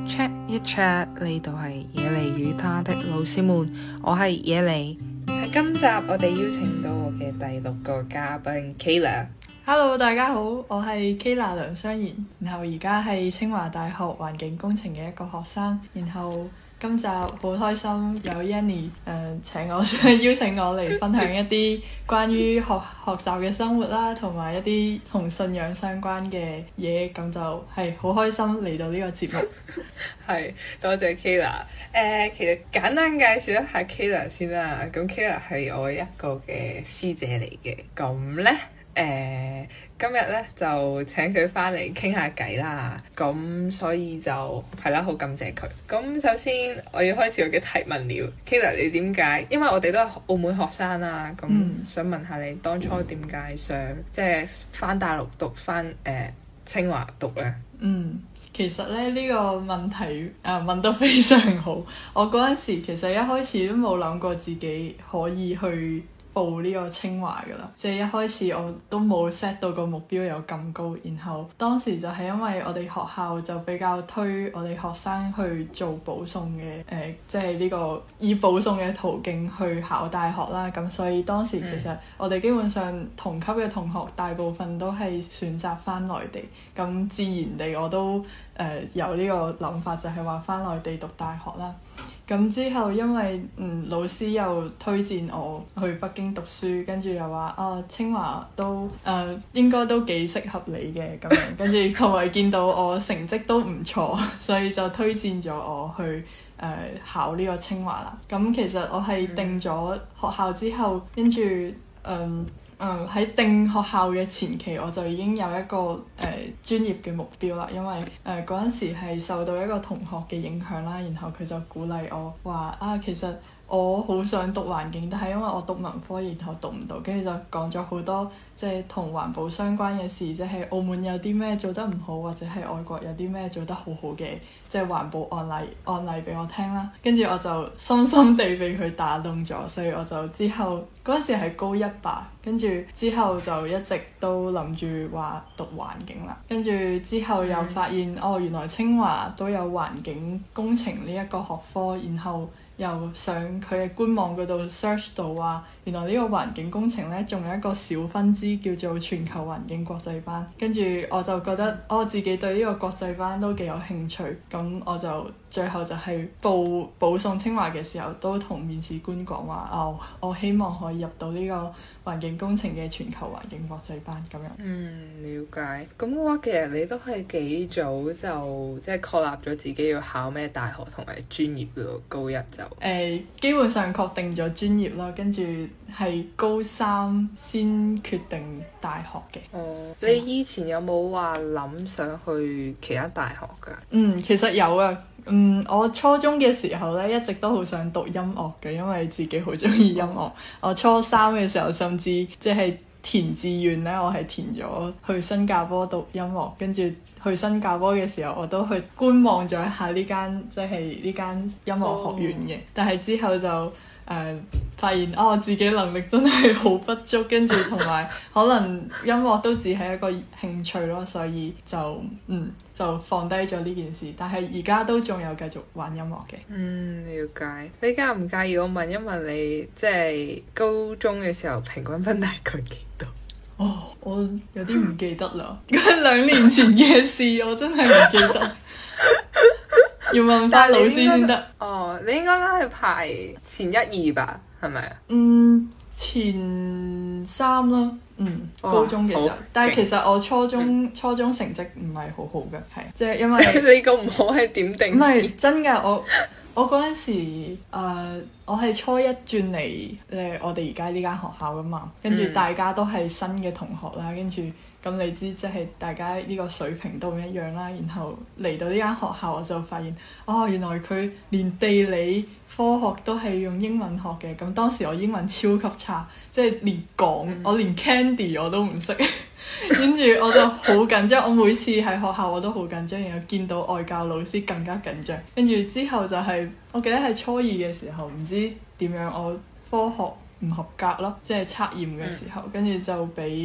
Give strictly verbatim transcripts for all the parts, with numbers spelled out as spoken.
Chat 一 chat， 呢度係野梨與他的老師們，我係野梨。喺今集我哋邀請到我嘅第六個嘉賓 Kayla。 Hello， 大家好，我係 Kayla 梁湘妍，然後而家係清華大學環境工程嘅一個學生，然後今集好開心有 Yanny 誒、呃、請我邀請我嚟分享一啲關於學學習嘅生活啦，同埋一啲同信仰相關嘅嘢，咁就係好開心嚟到呢個節目。 係，多謝 Kayla。誒、呃，其實簡單介紹一下 Kayla 先啦。咁 Kayla 係我一個嘅師姐嚟嘅，咁咧。誒、呃、今日咧就請佢翻嚟傾下偈啦，咁所以就係啦，好感謝佢。咁首先我要開始我嘅提問了 Kayla 你點解？因為我哋都係澳門學生啦，咁想問下你當初點解想即係翻大陸讀翻誒、呃、清華讀咧？ 嗯，其實咧呢、呢個問題啊問得非常好。我嗰陣時其實一開始都冇諗過自己可以去報呢個清華㗎啦，即係一開始我都冇 set 到個目標有咁高，然後當時就係因為我哋學校就比較推我哋學生去做保送嘅，誒、呃，即係呢個以保送嘅途徑去考大學啦，咁所以當時其實我哋基本上同級嘅同學大部分都係選擇返內地，咁自然地我都誒、呃、有呢個諗法，就係話返內地讀大學啦。咁之後因為嗯老師又推薦我去北京讀書，跟住又話啊清華都誒、呃、應該都幾適合你嘅咁樣，跟住同埋見到我成績都唔錯，所以就推薦咗我去誒、呃、考呢個清華啦。咁其實我係定咗學校之後，跟住嗯。嗯，喺定學校嘅前期我就已經有一個誒、呃、專業嘅目標啦，因為誒嗰陣時係受到一個同學嘅影響啦，然後佢就鼓勵我話啊，其實我好想讀環境，但係因為我讀文科，然後讀唔到，跟住就講咗好多即係同環保相關嘅事，即係澳門有啲咩做得唔好，或者係外國有啲咩做得好好嘅，即係環保案例案例俾我聽啦。跟住我就深深地被佢打動咗，所以我就之後嗰陣時係高一吧，跟住之後就一直都諗住話讀環境啦。跟住之後又發現、嗯、哦，原來清華都有環境工程呢一個學科，然後又上佢嘅官網嗰度 search 到話，原來呢個環境工程呢仲有一個小分支叫做全球環境國際班，跟住我就覺得我、哦、自己對呢個國際班都幾有興趣，咁我就最後就係報保送清華嘅時候都同面試官講話，哦，我希望可以入到呢個環境工程嘅全球環境國際班咁樣。 嗯，了解。咁嘅話其實你都係幾早就即係確立咗自己要考咩大學同埋專業嘅喎，高一就。誒、 呃，基本上確定咗專業啦，跟住係高三先決定大學嘅。 哦，你以前有冇話諗想去其他大學㗎？ 嗯，其實有啊。嗯，我初中嘅時候咧，一直都好想讀音樂嘅，因為自己好中意音樂。哦、我初三嘅時候，甚至即係填志願咧，我係填咗去新加坡讀音樂，跟住去新加坡嘅時候，我都去觀望咗一下呢間即係呢間音樂學院嘅，哦、但係之後就誒、呃、發現哦，自己能力真係好不足，跟住同埋可能音樂都只係一個興趣咯，所以就嗯就放低咗呢件事。但係而家都仲有繼續玩音樂嘅。 嗯，了解。你介唔介意我問一問你，即係高中嘅時候平均分大概幾多？ 哦，我有啲唔記得啦，兩年前嘅事，我真係唔記得。要問翻老師先得。 哦，你應該都係排前一二吧，係咪啊？ 嗯，前三啦。嗯， 哦、 高中嘅時候，但係其實我初中、嗯、初中成績唔係好好嘅，係即係因為你個唔好係點定？ 唔係真㗎，我我嗰陣時、呃、我係初一轉嚟誒我哋而家呢間學校㗎嘛，跟住大家都係新嘅同學啦，跟住咁你知即係大家呢個水平都唔一樣啦，然後嚟到呢間學校我就發現哦，原來佢連地理科學都係用英文學嘅，咁當時我英文超級差，即係連講、嗯、我連 Candy 我都唔識，跟住我就好緊張，我每次喺學校我都好緊張，然後見到外教老師更加緊張，跟住之後就係、是、我記得係初二嘅時候，唔知點樣我科學唔合格咯，即係測驗嘅時候，跟住就俾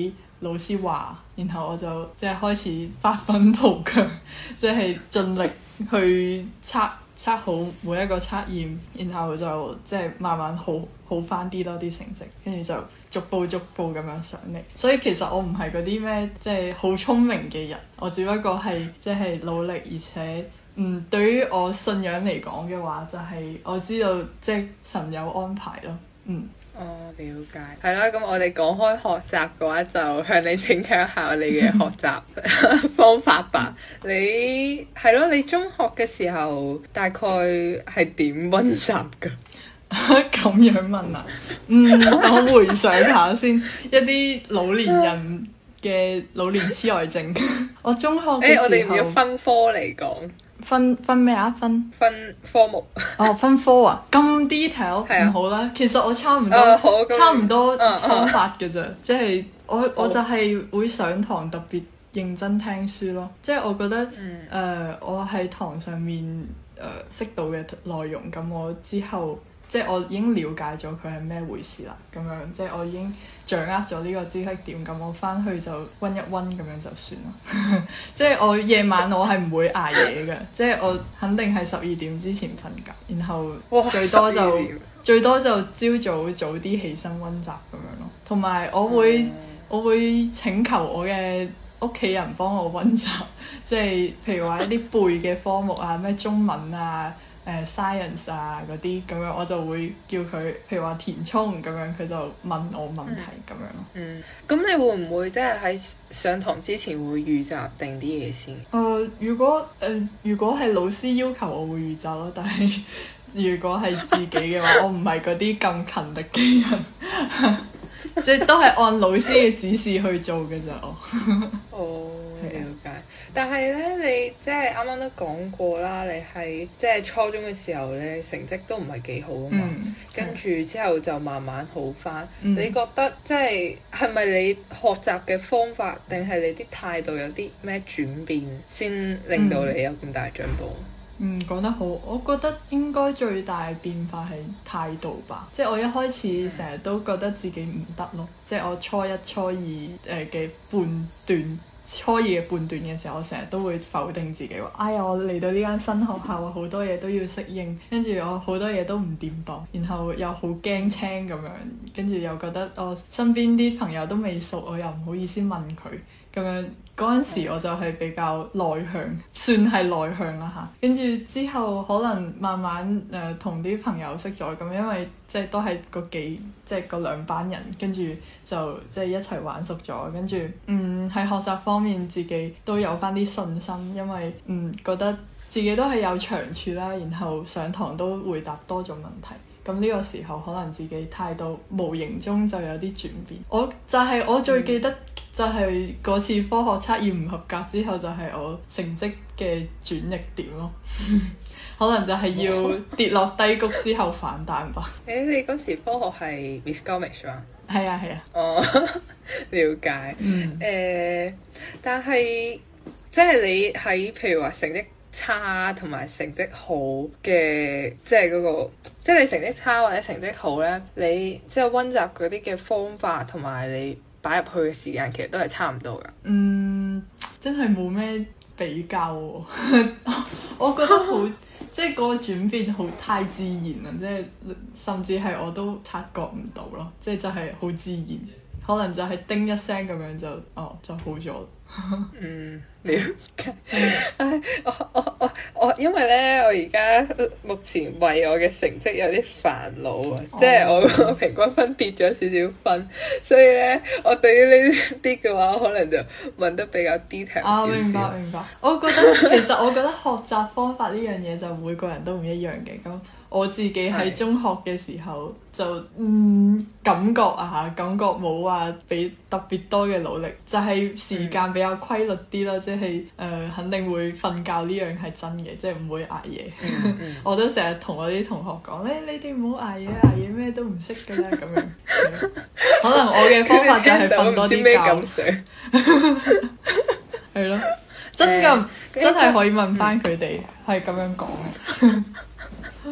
老師話，然後我就即係開始發奮圖強，即係盡力去測測好每一個測驗，然後就即係慢慢好好翻啲咯啲成績，跟住就逐步逐步咁樣上嚟。所以其實我唔係嗰啲咩即係好聰明嘅人，我只不過係即係努力，而且嗯對於我信仰嚟講嘅話，就係、是、我知道即係神有安排咯，嗯。 哦，了解。係啦，咁我哋講開學習嘅話，就向你請教一下你嘅學習方法吧。你係咯，你中學嘅時候大概係點溫習㗎？ 咁樣問啊？嗯，我回想下先，一啲老年人嘅老年痴呆症。我中學嘅時候，誒、欸，我哋唔要分科嚟講。 分分咩啊？分分科目哦，分科啊，咁 detail 唔好啦。其實我差唔多，呃、差唔多方法嘅啫。即係、uh, uh. 我我就係會上堂特別認真聽書咯。即係我覺得誒、嗯呃，我喺堂上面誒、呃、識到嘅內容，咁我之後即係我已經了解咗佢係咩回事啦。咁樣即係我已經掌握咗呢個知識點，咁我翻去就溫一溫咁樣就算啦。即係我夜晚我係唔會捱夜嘅，即係我肯定係十二點之前瞓覺，然後最多就最多就朝早早啲起身溫習咁樣咯。同埋我會、嗯、我會請求我嘅屋企人幫我溫習，即係譬如話一啲背嘅科目啊，咩中文啊。誒、uh, science 啊嗰啲咁樣，我就會叫佢，譬如話填充咁樣，佢就問我問題咁樣咯。嗯， 咁你會唔會即係喺上堂之前會預習定啲嘢先？ 誒、呃，如果誒、呃、如果係老師要求，我會預習咯。但係如果係自己嘅話，我唔係嗰啲咁勤力嘅人，即係都係按老師嘅指示去做嘅咋我。 哦，了解。但係咧，你即係啱啱都講過啦，你係即係初中嘅時候咧，成績都唔係幾好啊嘛。嗯、跟住之後就慢慢好返。嗯、你覺得即係係咪你學習嘅方法，定係你啲態度有啲咩轉變，先令到你有咁大進步？ 嗯，講得好。我覺得應該最大變化係態度吧。即係我一開始成日都覺得自己唔得咯。即係我初一、初二誒嘅半段。初二嘅半段嘅時候，我成日都會否定自己話：哎呀，我嚟到呢間新學校啊，好多嘢都要適應，跟住我好多嘢都唔掂當，然後又好驚青咁樣，跟住又覺得我身邊啲朋友都未熟，我又唔好意思問佢咁樣。嗰陣時我就係比較內向，算係內向啦嚇。跟住之後可能慢慢誒同啲朋友識咗咁，因為即係都係嗰幾即係嗰兩班人，跟住就即係一齊玩熟咗。跟住嗯喺學習方面自己都有返啲信心，因為嗯覺得自己都係有長處啦，然後上堂都回答多咗問題。咁呢個時候可能自己態度無形中就有啲轉變。我就係、是、我最記得就係嗰次科學測驗唔合格之後，就係我成績嘅轉捩點咯。可能就係要跌落低谷之後反彈吧。 誒、欸，你嗰時科學係 Viscomics 嘛？ 係啊係啊。 哦，了解。嗯。誒、呃，但係即係你喺譬如話成績差同埋成績好嘅，即係嗰個，即係你成績差或者成績好咧，你即係溫習嗰啲嘅方法同埋你擺入去嘅時間，其實都係差唔多噶。 嗯，真係冇咩比較喎。我覺得好，即係嗰個轉變好太自然啦，即係甚至係我都察覺唔到咯，即係就係好自然，可能就係叮一聲咁樣就哦就好咗。 嗯，了解。唉，我我我我，因為咧，我而家目前為我嘅成績有啲煩惱啊，即係、oh. 我個平均分跌咗少少分，所以咧，我對於呢啲嘅話，可能就問得比較 detail 少少。 啊，明白明白。我覺得其實我覺得學習方法呢樣嘢就每個人都唔一樣嘅咁。我自己喺中學嘅時候就嗯感覺啊嚇，感覺冇話俾特別多嘅努力，就係、是、時間比較規律啲啦，即係誒肯定會瞓覺呢樣係真嘅，即係唔會捱夜。嗯嗯、我都成日同我啲同學講咧，你哋唔好捱夜，捱夜咩都唔識㗎啦咁樣。可能我嘅方法就係瞓多啲覺。係咯，真㗎，嗯、真係可以問翻佢哋係咁樣講嘅。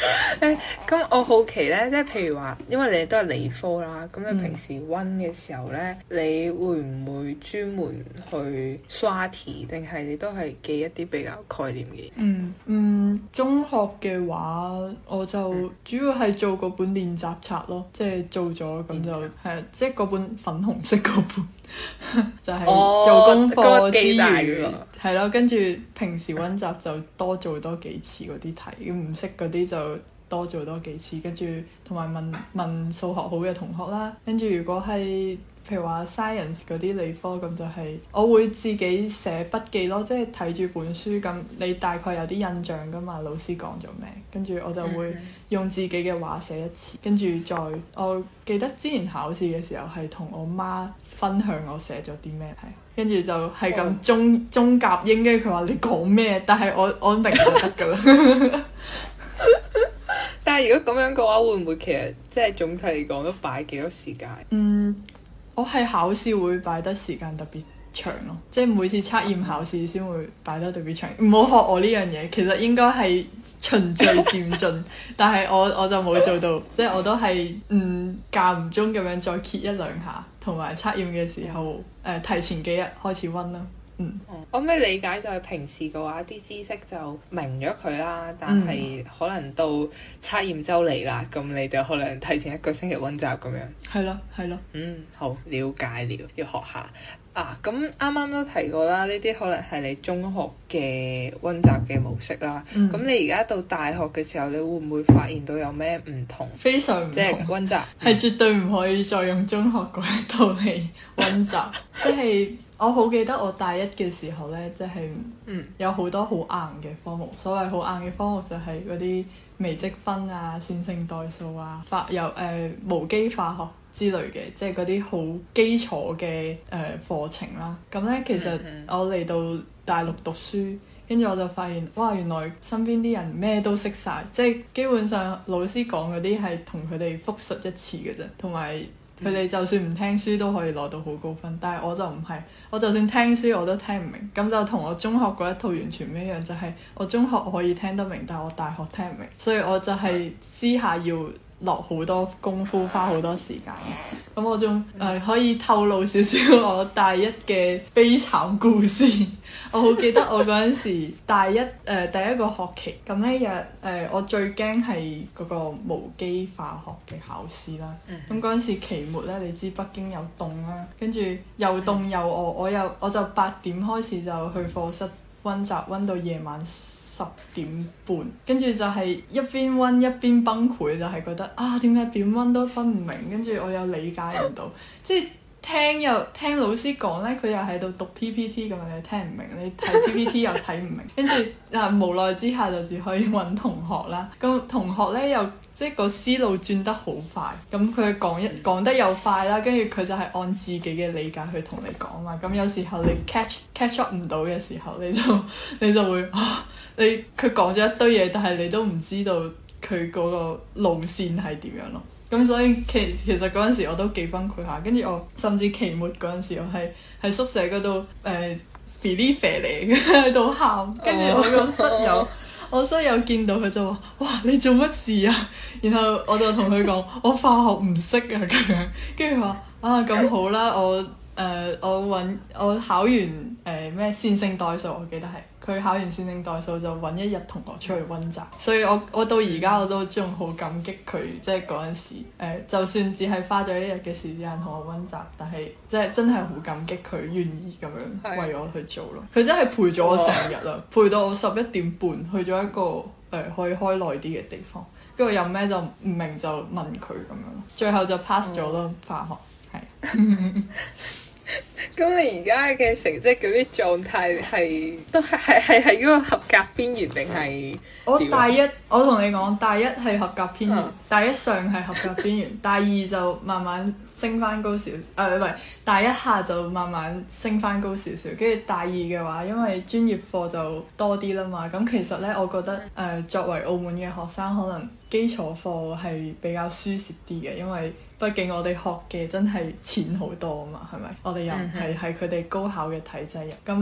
誒，咁我好奇咧，即係譬如話，因為你都係理科啦，咁你平時温嘅時候咧，嗯、你會唔會專門去刷題，定係你都係記一啲比較概念嘅嘢？ 嗯嗯，中學嘅話，我就主要係做嗰本練習冊咯，即係做咗咁就係啊，即係嗰本粉紅色嗰本，就係做功課之餘，係咯、哦，跟住平時温習就多做多幾次嗰啲題，唔識嗰啲就多做多幾次，跟住同埋問問數學好嘅同學啦。跟住如果係譬如話 science 嗰啲理科咁，就係我會自己寫筆記咯，即係睇住本書咁，你大概有啲印象噶嘛，老師講咗咩，跟住我就會用自己嘅話寫一次，跟住再我記得之前考試嘅時候係同我媽分享我寫咗啲咩題，跟住就係咁中、oh. 中夾英，跟住佢話你講咩，但係我我明就得噶啦。 但係如果咁樣嘅話，會唔會其實即係總體嚟講都擺幾多時間？ 嗯，我係考試會擺得時間特別長咯，即係每次測驗考試先會擺得特別長。唔好學我呢樣嘢，其實應該係循序漸進，但係我我就冇做到，即係我都係嗯間唔中咁樣再揭一兩下，同埋測驗嘅時候誒、呃、提前幾日開始溫啦。嗯， 我咩理解就係平時嘅話啲知識就明咗佢啦，但係可能到測驗周嚟啦，咁你就可能提前一個星期溫習咁樣。係咯，係咯。 嗯，好，了解了，要學下啊。咁啱啱都提過啦，呢啲可能係你中學嘅溫習嘅模式啦。咁、嗯、你而家到大學嘅時候，你會唔會發現到有咩唔同？ 非常唔同， 即係溫習係絕對唔可以再用中學嗰一套嚟溫習，即係。我好記得我大一嘅時候呢，即係有好多好硬嘅科目。所謂好硬嘅科目就係嗰啲微積分啊、線性代數啊、化有誒、呃、無機化學之類嘅，即係嗰啲好基礎嘅誒課程啦。咁呢，其實我嚟到大陸讀書，跟住我就發現，哇！原來身邊啲人咩都識晒，即係基本上老師講嗰啲係同佢哋複述一次嘅啫，同埋佢哋就算唔聽書都可以攞到好高分。但係我就唔係。我就算聽書我都聽唔明，咁就同我中學嗰一套完全唔一樣，就係、是、我中學我可以聽得明，但係我大學聽唔明，所以我就係私下要落好多功夫，花好多時間。咁我仲誒、呃、可以透露少少我大一嘅悲慘故事。我好記得我嗰陣時大一誒、呃、第一個學期，咁呢日誒我最驚係嗰個無機化學嘅考試啦。咁嗰陣時期末呢，你知北京又凍啦，跟住又凍又餓，我又我就八點開始就去課室溫習，溫到夜晚十點半，跟住就係一邊溫一邊崩潰，就係、是、覺得啊點解點溫都分唔明，跟住我又理解唔到，即係聽又聽老師講呢，佢又喺度讀 P P T 咁樣，你聽唔明，你睇 P P T 又睇唔明，跟住啊無奈之下就只可以揾同學啦。咁同學呢，又即係個思路轉得好快，咁佢講一講得又快啦，跟住佢就係按自己嘅理解去同你講嘛。咁有時候你 catch catch up 唔到嘅時候，你就你就會啊〜你佢講咗一堆嘢，但係你都唔知道佢嗰個路線係點樣咯。咁所以其其實嗰陣時我都幾崩潰下，跟住我甚至期末嗰陣時我係喺宿舍嗰度誒肥哩肥嚟喺度喊，跟住我個室友、oh. 我室友見到佢就話：哇，你做乜事啊？然後我就同佢講：我化學唔識啊咁樣。跟住佢話：啊咁好啦，我誒、呃、我揾我考完誒咩、呃、線性代數，我記得係。佢考完線性代數就揾一日同學出去溫習，所以我我到而家我都仲好感激佢，即係嗰陣時誒、呃，就算只係花咗一日嘅時間同我溫習，但係即係真係好感激佢願意咁樣為我去做咯。佢真係陪咗我成日啦，陪到我十一點半去咗一個誒、呃、可以開耐啲嘅地方，跟住有咩就唔明就問佢咁樣，最後就 pass 咗咯化學係。 咁你而家嘅成績嗰啲狀態係都係係係喺嗰個合格邊緣定係？ 我大一我同你講，大一係合格邊緣，嗯、大一上係合格邊緣，大二就慢慢升翻高少少，誒唔係大一下就慢慢升翻高少少，跟住大二嘅話，因為專業課就多啲啦嘛，咁其實呢，我覺得誒、呃、作為澳門嘅學生，可能基礎課係比較舒適啲嘅，因為畢竟我哋學嘅真係淺好多啊嘛，係咪？我哋又唔係喺佢哋高考嘅體制入，咁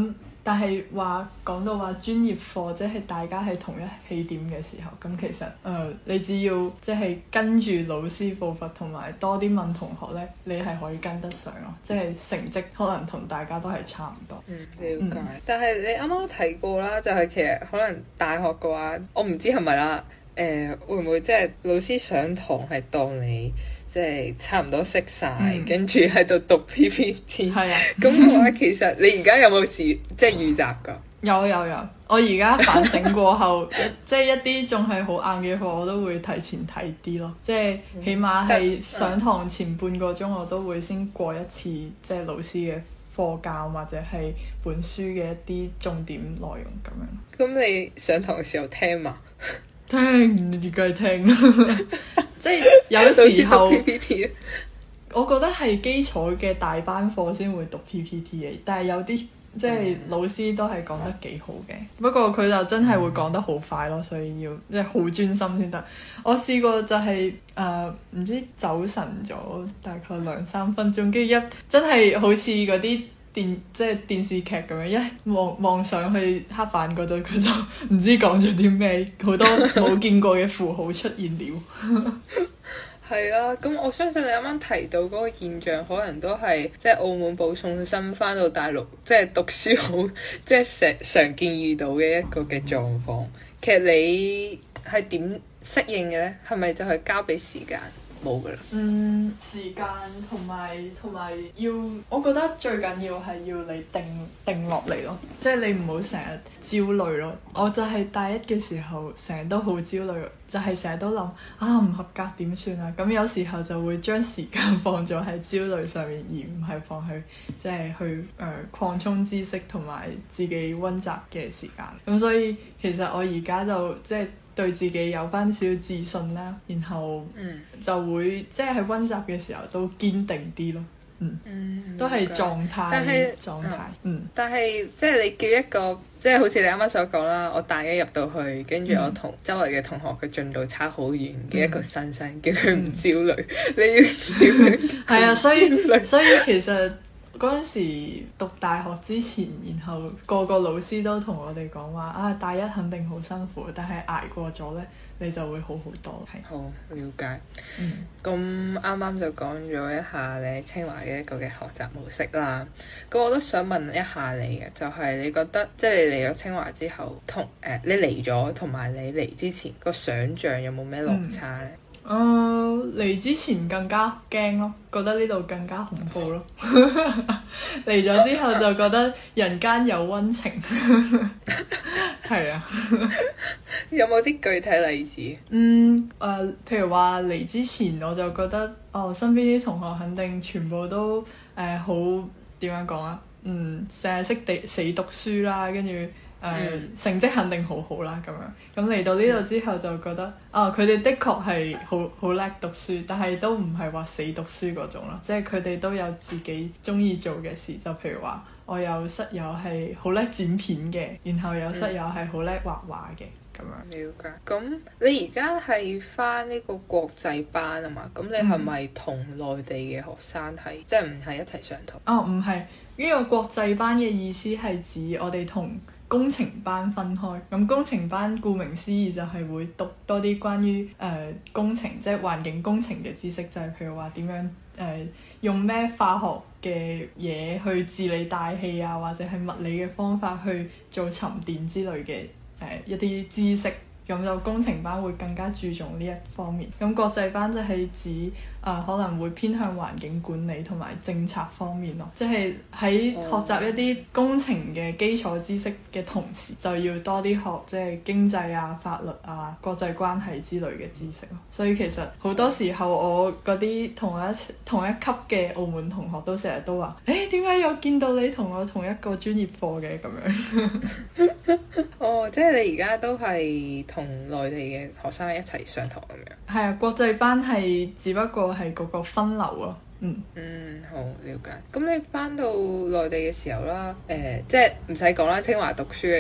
但係話講到話專業課，即係大家係同一起點嘅時候，咁其實誒、呃、你只要即係跟住老師步伐，同埋多啲問同學咧，你係可以跟得上咯。即係成績可能同大家都係差唔多。 嗯，了解。 嗯、 但係你啱啱提過啦，就係、是、其實可能大學嘅話，我唔知係咪啦。誒、呃、會唔會即係老師上堂係當你即係差唔多識晒，嗯、跟住喺度讀 P P T？ 係啊。咁嘅話，其實你而家有冇自即係預習㗎？ 有有有，我而家反省過後，即係一啲仲係好硬嘅課，我都會提前睇啲咯。即係起碼係上堂前半個鐘，我都會先過一次即係老師嘅課教或者係本書嘅一啲重點內容咁樣。 咁你上堂嘅時候聽嘛？ 聽，你梗係聽啦。即係有時候，我覺得係基礎嘅大班課先會讀 P P T 嘅，但係有啲即係老師都係講得幾好嘅。不過佢就真係會講得好快咯，所以要即係好專心先得。我試過就係誒唔知走神咗大概兩三分鐘，跟住一真係好似嗰啲電即係電視劇咁樣，一望望上去黑板嗰度，佢就唔知講咗啲咩，好多冇見過嘅符號出現了。 係啦，咁我相信你啱啱提到嗰個現象，可能都係即係澳門保送生翻到大陸，即係讀書好，即係常常見遇到嘅一個嘅狀況。其實你係點適應嘅咧？係咪就係交俾時間？冇㗎啦。 嗯，時間同埋同埋要，我覺得最緊要係要你定定落嚟咯，即係你唔好成日焦慮咯。我就係大一嘅時候，成日都好焦慮，就係成日都諗啊唔合格點算啊？咁有時候就會將時間放咗喺焦慮上面，而唔係放去即係去誒、呃、擴充知識同埋自己溫習嘅時間。咁所以其實我而家就即係對自己有翻少少自信啦，然後就會、嗯、即係喺溫習嘅時候都堅定啲咯。嗯，嗯都係狀態， 但係狀態。嗯， 但係即係你叫一個即係好似你啱啱所講啦，我大一入到去，跟住我同周圍嘅同學嘅進度差好遠嘅一個新生，嗯、叫佢唔焦慮，嗯、你要點樣？ 係啊，所以所以其實。嗰陣時讀大學之前，然後個個老師都同我哋講話啊，大一肯定好辛苦，但係捱過咗呢，你就會好好多。係好了解。嗯，咁啱啱就講咗一下你清華嘅一個嘅學習模式啦。咁我都想問一下你嘅，就係、是、你覺得即係、就是、你嚟咗清華之後，同誒、呃、你嚟咗同埋你嚟之前個想像有冇咩落差呢？嗯誒嚟、uh, 之前更加驚咯，覺得呢度更加恐怖咯。嚟咗之後就覺得人間有溫情。係啊。 有冇啲具體例子？ 嗯誒、呃，譬如話嚟之前我就覺得，哦，身邊啲同學肯定全部都誒、呃、好點樣講啊？嗯，成日識地死讀書啦，跟住。誒、呃嗯、成績肯定好好啦，咁樣咁嚟到呢度之後就覺得，啊佢哋的確係好好叻讀書，但係都唔係話死讀書嗰種咯，即係佢哋都有自己中意做嘅事，就譬如話我有室友係好叻剪片嘅，然後有室友係好叻畫畫嘅咁樣。 了解。咁你而家係返呢個國際班啊嘛？咁你係咪同內地嘅學生係、嗯、即係唔係一齊上堂？ 哦，唔係，呢個國際班嘅意思係指我哋同工程班分開，咁工程班顧名思義就係會讀多啲關於誒、呃、工程，即係環境工程嘅知識，就係、是、譬如話點樣誒、呃、用咩化學嘅嘢去治理大氣啊，或者係物理嘅方法去做沉澱之類嘅誒、呃、一啲知識。咁就工程班會更加注重呢一方面，咁國際班就係指誒、呃、可能會偏向環境管理同埋政策方面咯，即係喺學習一啲工程嘅基礎知識嘅同時，就要多啲學即係經濟啊、法律啊、國際關係之類嘅知識咯。所以其實好多時候我嗰啲同我一同一級嘅澳門同學都成日都話：誒點解有見到你同我同一個專業課嘅咁樣？ 哦，即係你而家都係同內地嘅學生一齊上堂咁樣。 係啊，國際班係只不過係嗰個分流咯。嗯嗯，好了解。咁你翻到內地嘅時候啦，誒、呃，即係唔使講啦，清華讀書嘅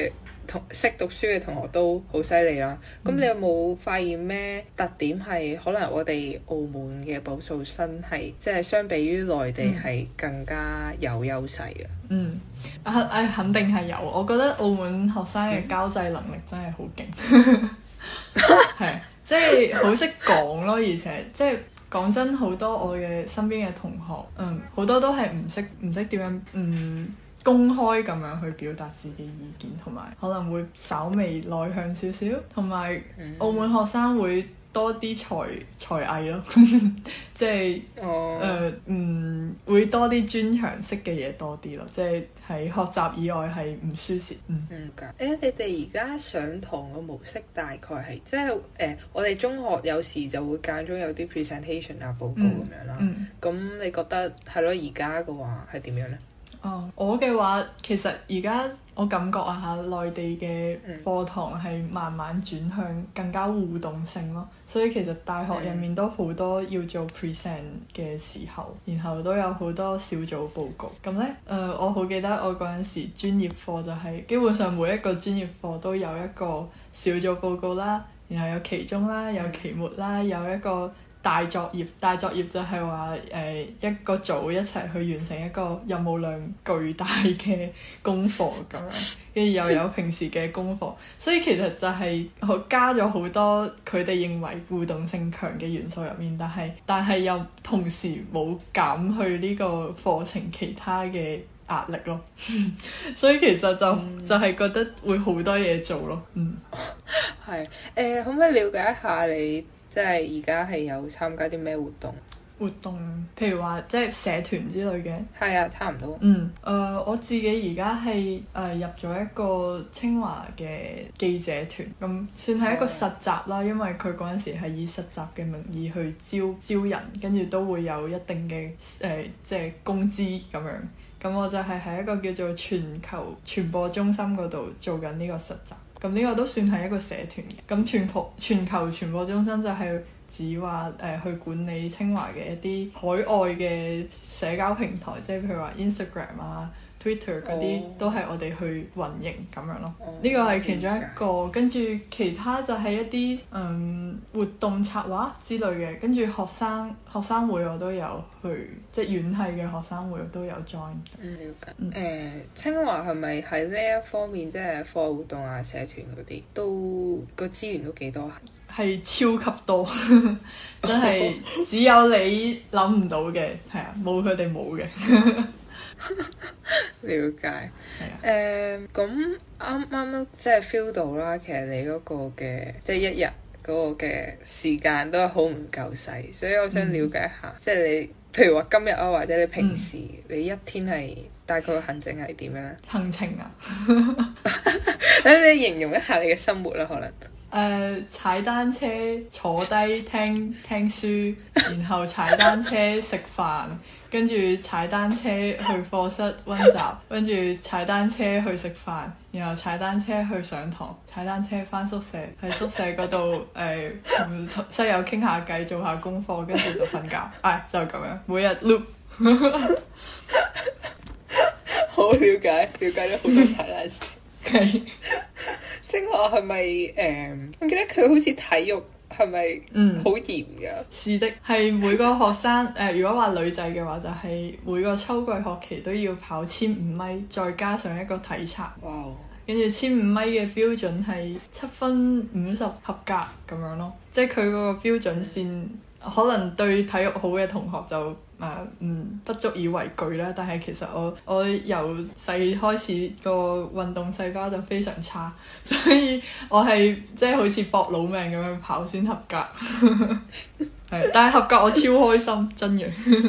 同識讀書嘅同學都好犀利啦。咁、嗯、你有冇發現咩特點係可能我哋澳門嘅保送生係即係相比於內地係更加有優勢嘅？ 嗯，啊啊肯定係有。我覺得澳門學生嘅交際能力真係好勁，係即係好識講咯，而且即係。講真，好多我嘅身邊嘅同學，嗯，好多都係唔識唔識點樣，嗯，公開咁樣去表達自己意見，同埋可能會稍微內向少少，同埋澳門學生會多啲才才藝咯，即係誒嗯會多啲專長識嘅嘢多啲咯，即係喺學習以外係唔輸蝕。嗯嗯㗎。誒、欸，你哋而家上堂嘅模式大概係即係誒、呃，我哋中學有時就會間中有啲 presentation 啊報告咁樣啦。嗯。咁、嗯、你覺得係咯？而家嘅話係點樣咧？ 哦，我嘅話其實而家我感覺啊嚇，內地嘅課堂係慢慢轉向更加互動性咯，所以其實大學入面都好多要做 present 嘅時候，然後都有好多小組報告。咁呢，誒、呃、我好記得我嗰陣時專業課就係、是、基本上每一個專業課都有一個小組報告啦，然後有期中啦，有期末啦，有一個大作業，大作業就係話誒一個組一齊去完成一個任務量巨大嘅功課咁樣，跟住又有平時嘅功課，所以其實就係加咗好多佢哋認為互動性強嘅元素入面，但係但係又同時冇減去呢個課程其他嘅壓力咯，所以其實就、嗯、就係覺得會好多嘢做咯。嗯， 係誒、呃，可唔可以了解一下你？即係而家係有參加啲咩活動？ 活動，譬如話即係社團之類嘅。 係啊，差唔多。 嗯，誒、呃，我自己而家係誒入咗一個清華嘅記者團，咁算係一個實習啦。因為佢嗰陣時係以實習嘅名義去招招人，跟住都會有一定嘅誒、呃，即係工資咁樣。咁我就係喺一個叫做全球傳播中心嗰度做緊呢個實習。咁呢個都算係一個社團嘅。咁全球全球傳播中心就係指話誒、呃、去管理清華嘅一啲海外嘅社交平台，即係譬如話 Instagram 啊、Twitter 嗰啲、oh. 都係我哋去運營咁樣咯。呢個係其中一個，跟住其他就係一啲嗯活動策劃之類嘅，跟住學生學生會我都有去，即係院系嘅學生會我都有 join。 嗯，了解。誒、嗯呃，清華係咪喺呢一方面，即係課外活動啊、社團嗰啲，都個資源都幾多？ 係超級多，真係只有你諗唔到嘅，係啊，冇佢哋冇嘅。 了解。係啊。誒，咁啱啱即係 feel 到啦，其實你嗰個嘅即係一日嗰個嘅時間都係好唔夠使，所以我想了解一下，嗯、即係你譬如話今日啊，或者你平時、嗯、你一天係大概行程係點樣咧？ 行程啊， 等你形容一下你嘅生活啦，可能。 誒、uh, 踩單車坐低聽聽書，然後踩單車食飯，跟住踩單車去課室溫習，跟住踩單車去食飯，然後踩單車去上堂，踩單車返宿舍，喺宿舍嗰度誒同室友傾下偈，做下功課，跟住就瞓覺。唉，就咁樣，每日 loop。 好了解，了解咗好多踩單車。係。清華係咪誒？我記得佢好似體育係咪嗯好嚴㗎？ 是的，係每個學生誒、呃，如果話女仔嘅話，就係、是、每個秋季學期都要跑千五米，再加上一個體測。哇！跟住千五米嘅標準係七分五十合格咁樣咯，即係佢嗰個標準線，可能對體育好嘅同學就。誒嗯，不足以為懼啦，但係其實我我由細開始個運動細胞就非常差，所以我係即係好似搏老命咁樣跑先合格。係，但係合格我超開心，真嘅。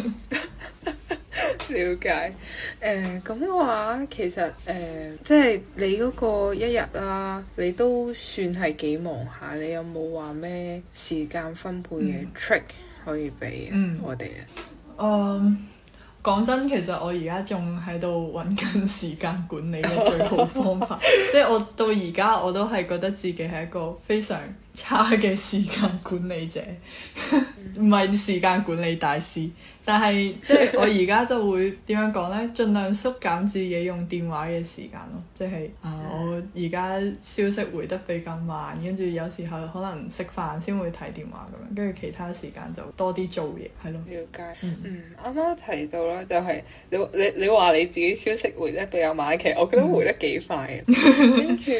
了解。誒咁嘅話，其實誒、呃、即係你嗰個一日啦，你都算係幾忙下。你有冇話咩時間分配嘅 trick 可以俾我哋咧？ 嗯，講、um, 真，其實我而家仲喺度揾緊時間管理嘅最好方法。即係我到而家我都係覺得自己係一個非常差嘅時間管理者，唔係時間管理大師。但係即係我而家就會點樣講呢？盡量縮減自己用電話嘅時間咯。即係啊，我而家消息回得比較慢，跟住有時候可能食飯先會睇電話咁樣，跟住其他時間就多啲做嘢，係咯。 了解。嗯，啱啱提到啦，就係你你你話你自己消息回得比較慢，其實我覺得回得幾快嘅。跟住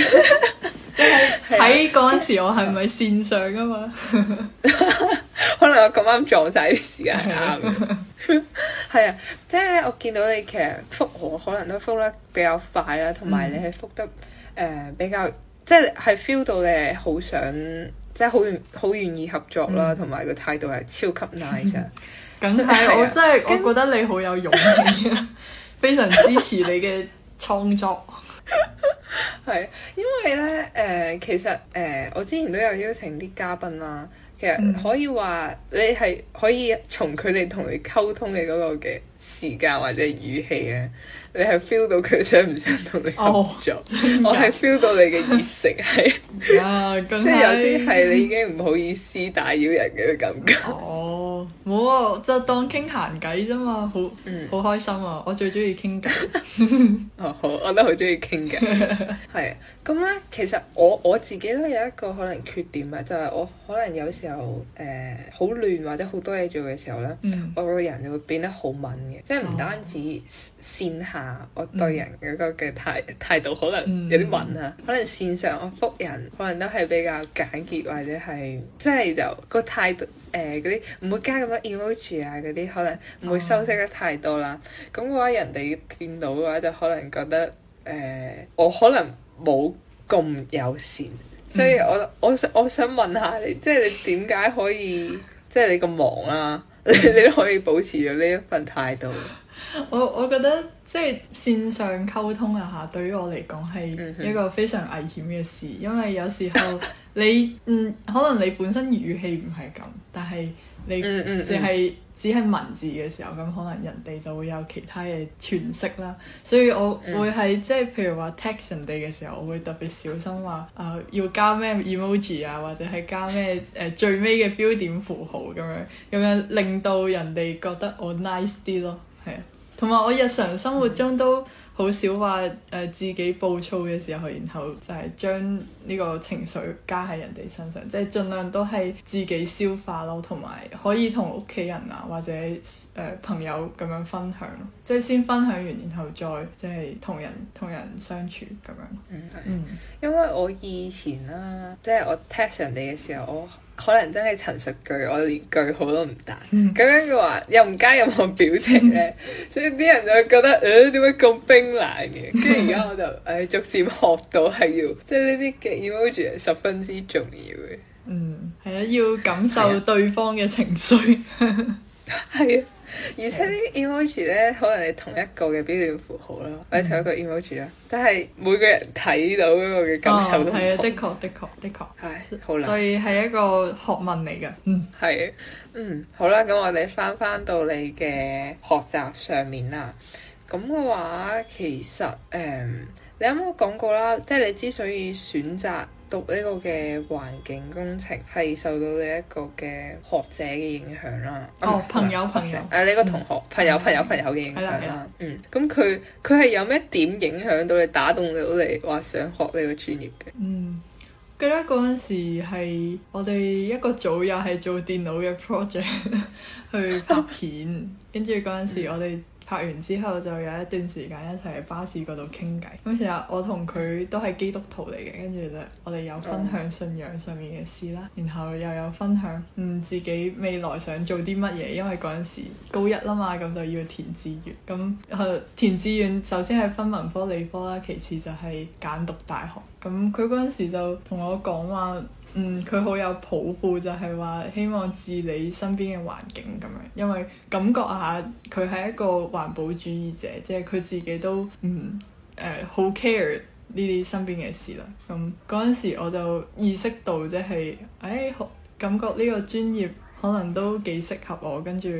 睇嗰陣時，我係咪線上啊嘛？ 可能我咁啱撞晒啲時間啱嘅。係啊，即係我見到你其實覆我可能都覆得比較快啦，同埋你係覆得誒、呃、比較，即係係 feel 到你係好想，即係好願好願意合作啦，同埋個態度係超級 nice 啊！ 梗係我真係我覺得你好有勇氣啊，非常支持你嘅創作。 係，因為咧誒、呃，其實誒、呃，我之前都有邀請啲嘉賓啦。其實可以話你係可以從佢哋同你溝通嘅嗰個嘅時間或者語氣咧，你係 feel 到佢想唔想同你合作。Oh, 我係 feel 到你嘅熱誠係，即係有啲係你已經唔好意思打擾人嘅感覺。 哦，冇啊，就當傾閒偈啫嘛，好好、嗯、開心啊！我最中意傾偈。 哦，好，我都好中意傾偈。係咁咧，其實我我自己都有一個可能缺點啊，就係、是、我可能有時候誒好亂或者好多嘢做嘅時候咧，嗯、我個人就會變得好敏嘅，即係唔單止線下我對人嗰個嘅態態度可能有啲敏啊，嗯、可能線上我覆人可能都係比較簡潔或者係即係就個態度誒嗰啲唔會加咁多 emoji 啊嗰啲，可能唔會修飾得太多啦。咁嘅話人哋見到嘅話就可能覺得誒、呃、我可能冇咁友善，所以我我想我想問下你，即係你點解可以即係你咁忙啊？你你都可以保持咗呢一份態度。 我我覺得即係線上溝通啊嚇，對於我嚟講係一個非常危險嘅事，因為有時候你嗯可能你本身語氣唔係咁，但係你淨係只係文字嘅時候，咁可能人哋就會有其他嘅詮釋啦。所以我會係即係譬如話 text 人哋嘅時候，我會特別小心話誒、呃、要加咩 emoji 啊，或者係加咩誒、呃、最尾嘅標點符號咁樣，咁樣令到人哋覺得我 nice 啲咯，係啊。同埋我日常生活中都好少話誒、呃、自己暴躁嘅時候，然後就係將呢個情緒加喺人哋身上，即係盡量都係自己消化咯，同埋可以同屋企人啊或者誒、呃、朋友咁樣分享咯，即係先分享完，然後再即係同人同人相處咁樣。嗯， 嗯，因為我以前啦，即係我 text 人哋嘅時候，我可能真係陳述句，我連句號都唔打，咁、嗯、樣嘅話又唔加任何表情咧，所以啲人就會覺得誒點解咁冰冷嘅？跟住而家我就誒、哎、逐漸學到係要，即係呢啲嘅 emoji 係十分之重要嘅。 嗯，係啊，要感受對方嘅情緒。 係啊。而且啲 emoji 咧，可能係同一個嘅標點符號啦，或者同一個 emoji 啦，但係每個人睇到嗰個嘅感受都唔同。係啊、哦，的確，的確，的確，係好難。所以係一個學問嚟㗎。嗯，係。 嗯，好啦，咁我哋翻翻到你嘅學習上面啦。咁嘅話，其實誒、嗯，你啱啱講過啦，即係你之所以選擇讀呢個嘅環境工程，係受到你一個嘅學者嘅影響啦。 哦，嗯、朋友朋友，誒、 啊，你個同學、嗯、朋友朋友朋友嘅影響啦。嗯，咁佢佢係有咩點影響到你，打動到你話想學呢個專業嘅？ 嗯，記得嗰陣時係我哋一個組又係做電腦嘅 project 去拍片，跟住嗰陣時我哋、嗯。拍完之後就有一段時間一齊喺巴士嗰度傾偈。咁成日我同佢都係基督徒嚟嘅，跟住就我哋有分享信仰上面嘅事啦，然後又有分享嗯自己未來想做啲乜嘢，因為嗰陣時高一啦嘛，咁就要填志願。咁誒填志願首先係分文科理科啦，其次就係揀讀大學。咁佢嗰陣時就同我講話。嗯，佢好有抱負，就係話希望治理身邊嘅環境咁樣，因為感覺下佢係一個環保主義者，即係佢自己都嗯誒好 care 呢啲身邊嘅事啦。咁嗰陣時我就意識到即係誒感覺呢個專業可能都幾適合我，跟住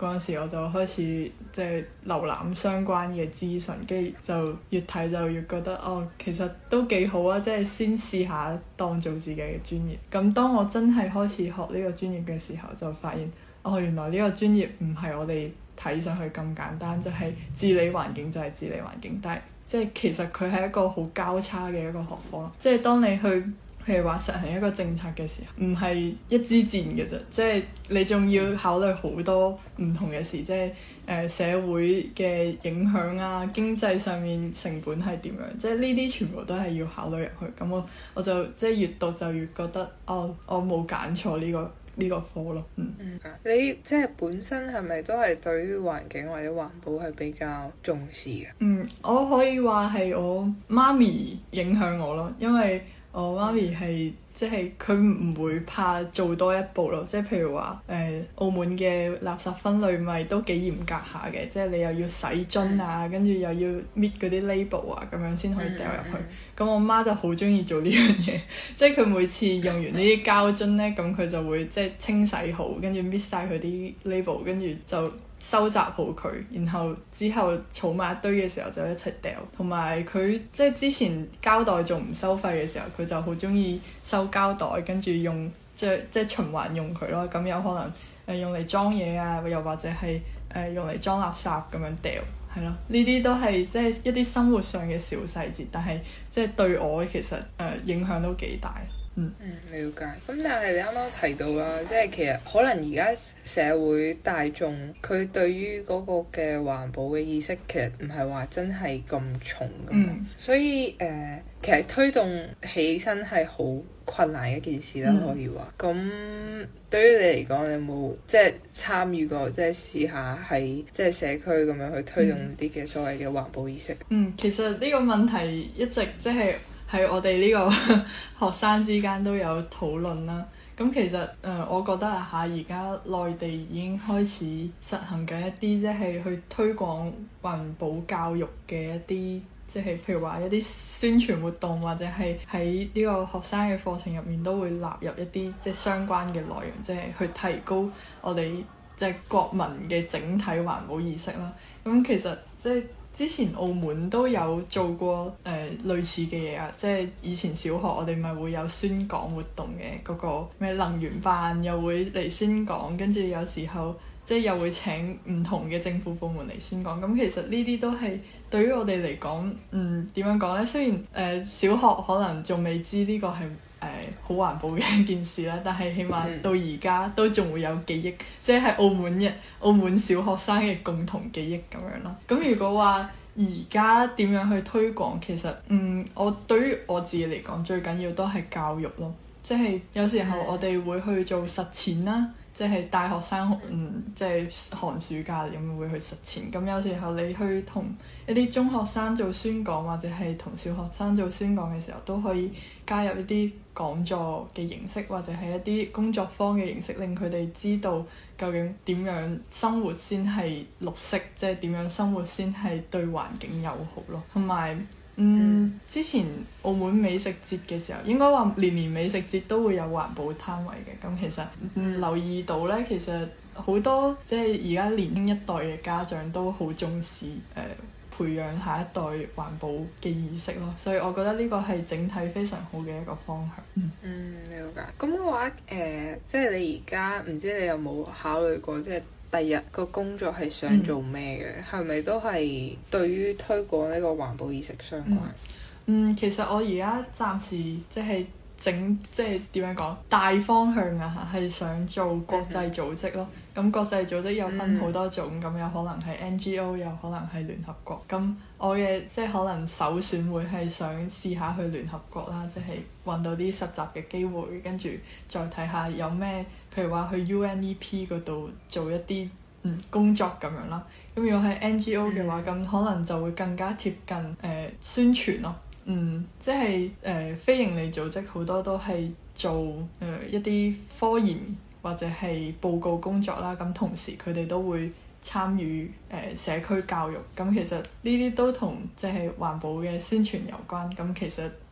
嗰陣時我就開始即係瀏覽相關嘅資訊，跟住就越睇就越覺得哦，其實都幾好啊！即係先試下當做自己嘅專業。咁當我真係開始學呢個專業嘅時候，就發現哦，原來呢個專業唔係我哋睇上去咁簡單，就係治理環境就係治理環境，但係即係其實佢係一個好交叉嘅一個學科。即係當你去譬如話實行一個政策嘅時候，唔係一支箭嘅啫，即係你仲要考慮好多唔同嘅事，即係誒、呃、社會嘅影響啊，經濟上面成本係點樣，即係呢啲全部都係要考慮入去。咁我我就即係越讀就越覺得，哦，我冇揀錯呢個呢個科咯。嗯， 嗯，你即係本身係咪都係對於環境或者環保係比較重視嘅？ 嗯，我可以話係我媽咪影響我咯，因為我媽咪係即係佢唔會怕做多一步咯，即係譬如話誒、呃、澳門嘅垃圾分類咪都幾嚴格下嘅，即係你又要洗樽啊，跟住又要搣嗰啲 label 啊，咁樣先可以掉入去。咁、嗯、我媽就好中意做呢樣嘢，即係佢每次用完呢啲膠樽咧，咁佢就會即係清洗好，跟住搣晒佢啲 label，跟住就收集好佢，然後之後儲埋一堆嘅時候就一齊掉。同埋佢即係之前膠袋仲唔收費嘅時候，佢就好中意收膠袋，跟住用即係即係循環用佢咯。咁有可能誒、呃、用嚟裝嘢啊，又或者係誒、呃、用嚟裝垃圾咁樣掉，係咯。呢啲都係即係一啲生活上嘅小細節，但係即係對我其實誒、呃、影響都幾大。嗯， 嗯，了解。咁但係你啱啱提到啦，即係其實可能而家社會大眾佢對於嗰個嘅環保嘅意識其實唔係話真係咁重㗎嘛， 嗯、 所以誒、呃、其實推動起身係好困難嘅一件事啦，嗯、可以話。咁對於你嚟講，你有冇即係參與過，即係試下喺即係社區咁樣去推動啲嘅所謂嘅環保意識？ 嗯，其實呢個問題一直即係喺我哋呢個學生之間都有討論啦。咁其實誒、呃，我覺得啊嚇，而家內地已經開始實行緊一啲即係去推廣環保教育嘅一啲，即係譬如話一啲宣傳活動，或者係喺呢個學生嘅課程入面都會納入一啲即係相關嘅內容，即係去提高我哋即係國民嘅整體環保意識啦。咁其實即係之前澳門都有做過誒、呃、類似嘅嘢啊，即係以前小學我哋咪會有宣講活動嘅，嗰個咩能源辦又會嚟宣講，跟住有時候即係又會請唔同嘅政府部門嚟宣講。咁其實呢啲都係對於我哋嚟講，嗯，點樣講呢？雖然誒、呃、小學可能仲未知呢個係誒好環保嘅一件事啦，但係起碼到而家都仲會有記憶，即係澳門嘅澳門小學生嘅共同記憶咁樣咯。咁如果話而家點樣去推廣，其實嗯，我對於我自己嚟講，最緊要都係教育咯。即係有時候我哋會去做實踐啦，即係大學生嗯，即係寒暑假咁會去實踐。咁有時候你去同一啲中學生做宣講，或者係同小學生做宣講嘅時候，都可以加入一啲講座嘅形式，或者係一啲工作坊嘅形式，令佢哋知道究竟點樣生活先係綠色，即係點樣生活先係對環境友好咯。同埋嗯，嗯之前澳門美食節嘅時候，應該話年年美食節都會有環保攤位嘅。咁其實嗯留意到咧，其實好多即係而家年輕一代嘅家長都好重視誒、呃培養下一代環保嘅意識咯，所以我覺得呢個係整體非常好嘅一個方向。嗯， 嗯，了解。咁嘅話，誒、呃，即係你而家唔知你有冇考慮過，即係第日個工作係想做咩嘅？係咪、嗯、都係對於推廣呢個環保意識相關？ 嗯，嗯，其實我而家暫時即係整即係點樣講大方向啊，係想做國際組織咯。咁、嗯、國際組織有分好多種，咁、嗯、有可能係 N G O， 有可能係聯合國。咁我嘅即係可能首選會係想試下去聯合國啦，即係揾到啲實習嘅機會，跟住再睇下有咩，譬如話去 U N E P 嗰度做一啲嗯工作咁樣啦。咁如果係 N G O 嘅話，咁、嗯、可能就會更加貼近誒、呃、宣傳咯。嗯，即係誒、呃、非營利組織好多都係做誒、呃、一啲科研或者係報告工作啦，咁同時佢哋都會參與誒、呃、社區教育，咁其實呢啲都同即係環保嘅宣傳有關。咁其實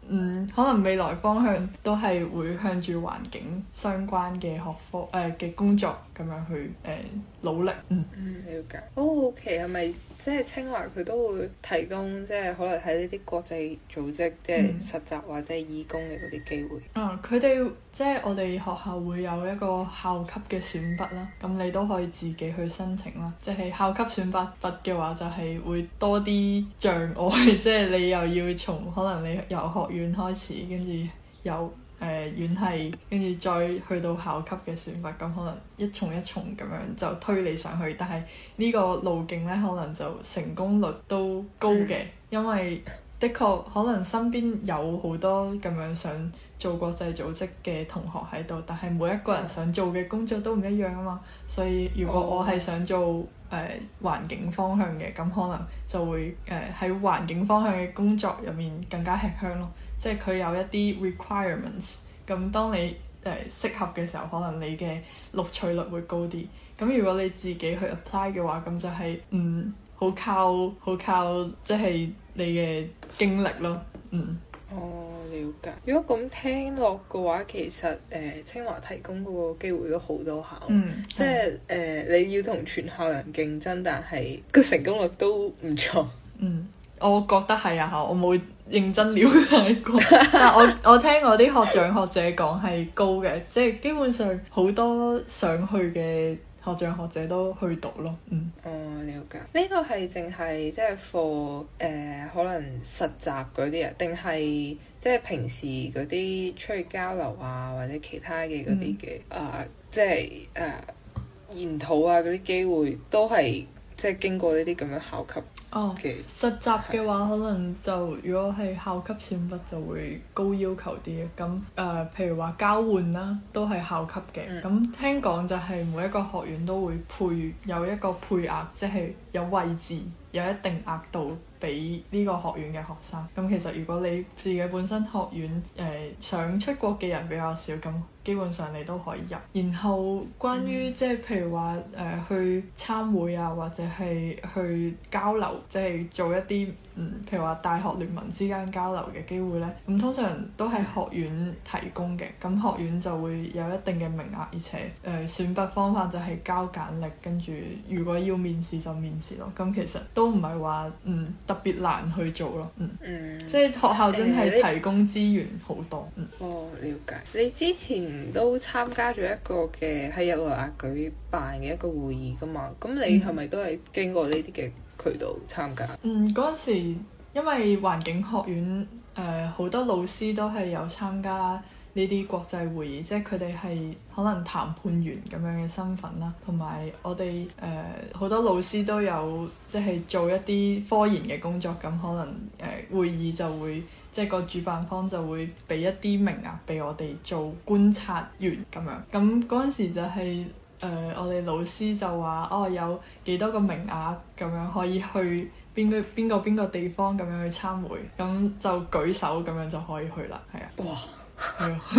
嗯，可能未來方向都係會向住環境相關嘅學科誒嘅、呃、工作咁樣去誒、呃、努力。嗯， 嗯，了解。好好奇係咪即係清華佢都會提供即係可能喺呢啲國際組織即係實習或者義工嘅嗰啲機會？ 嗯，佢哋即係我哋學校會有一個校級嘅選拔啦，咁你都可以自己去申請啦。即係校級選拔拔嘅話，就係會多啲障礙，即係你又要從可能你由學院開始，跟住由誒、呃、院系，跟住再去到校級嘅選拔，咁可能一重一重咁樣就推你上去。但係呢個路徑呢，可能就成功率都高嘅，嗯、因為的確可能身邊有好多咁樣想做國際組織嘅同學喺度，但係每一個人想做嘅工作都唔一樣啊嘛。所以如果我係想做誒、呃、環境方向嘅，咁可能就會誒喺、呃、環境方向嘅工作入面更加吃香咯。即係佢有一啲 requirements，咁當你誒、呃、適合嘅時候，可能你嘅錄取率會高啲。咁如果你自己去 apply 嘅話，咁就係、是、嗯好靠好靠即係你嘅經歷咯。嗯。 哦，了解。如果咁聽落嘅話，其實誒、呃、清華提供嗰個機會都好多下， 嗯、 即係誒、呃、你要同全校人競爭，但係個成功率都唔錯。 嗯，我覺得係啊，我冇認真了解過，但係我我聽我啲學長學姐講係高嘅，即係基本上好多想去嘅學長學姐都去讀咯。嗯。 哦，了解。呢個係淨係即係 for 誒可能實習嗰啲啊，定係即係平時嗰啲出去交流啊，或者其他嘅嗰啲嘅啊，即係誒研討啊嗰啲機會都係即係經過呢啲咁樣校級。 哦， 嘅實習嘅話，可能就如果係校級選拔就會高要求啲嘅。咁誒、呃，譬如話交換啦，都係校級嘅。咁、嗯、聽講就係每一個學院都會配有一個配額，即係有位置有一定額度俾呢個學院嘅學生。咁其實如果你自己本身學院誒、呃、想出國嘅人比較少，咁基本上你都可以入。然後關於、嗯、即係譬如話誒、呃、去參會啊，或者係去交流。即係做一啲嗯，譬如話大學聯盟之間交流嘅機會咧，咁通常都係學院提供嘅，咁學院就會有一定嘅名額，而且誒、呃、選拔方法就係交簡歷，跟住如果要面試就面試咯。咁其實都唔係話嗯特別難去做咯，嗯，嗯即係學校真係提供資源好多。 嗯、哦，了解。你之前都參加咗一個嘅喺日內瓦舉辦嘅一個會議㗎嘛？咁你係咪都係經過呢啲嘅渠道參加？ 嗯，嗰陣時因為環境學院誒好、呃、多老師都係有參加呢啲國際會議，即係佢哋係可能談判員咁樣嘅身份啦，同埋我哋誒好多老師都有即係做一啲科研嘅工作，咁可能誒、呃、會議就會即係個主辦方就會俾一啲名額俾我哋做觀察員咁樣，咁嗰陣時就係、是。誒、呃，我哋老師就話，哦，有幾多個名額咁樣可以去邊個邊個邊個地方咁樣去參會，咁就舉手咁樣就可以去啦，係啊。 哇！ 係啊，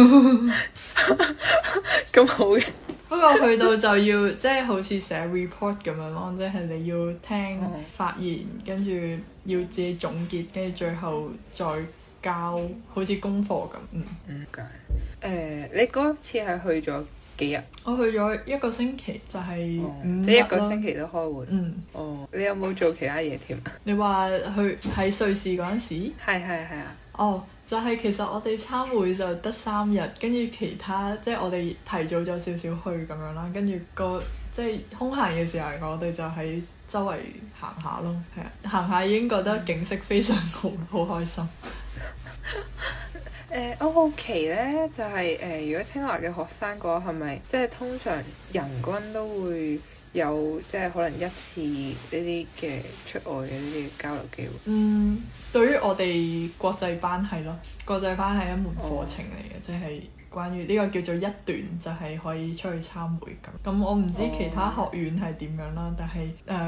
咁好嘅。 不過去到就要即係好似寫 report 咁樣咯，即係你要聽發言，跟住要自己總結，跟住最後再交，好似功課咁。嗯。 嗯。誒、呃，你嗰次係去咗幾日？ 我去咗一個星期，就係、是、五日， 即係一個星期都開會。 嗯。 哦，你有冇做其他嘢添啊？ 你話去喺瑞士嗰陣時？ 係係係啊。 哦，就係、是、其實我哋參會就得三日，跟住其他即係、就是、我哋提早咗少少去咁樣啦，跟住個即係空閒嘅時候，我哋就喺周圍行下咯，係啊，行下已經覺得景色非常好，好開心。 誒、呃，我好奇咧，就係、是、誒、呃，如果清華嘅學生嘅話，係咪即係通常人均都會有即係可能一次呢啲嘅出外嘅呢啲交流機會？ 嗯，對於我哋國際班係咯，國際班係一門課程嚟嘅，即係、哦、關於呢個叫做一段，就係、是、可以出去參會咁。咁我唔知其他學院係點樣啦，哦、但係誒、呃、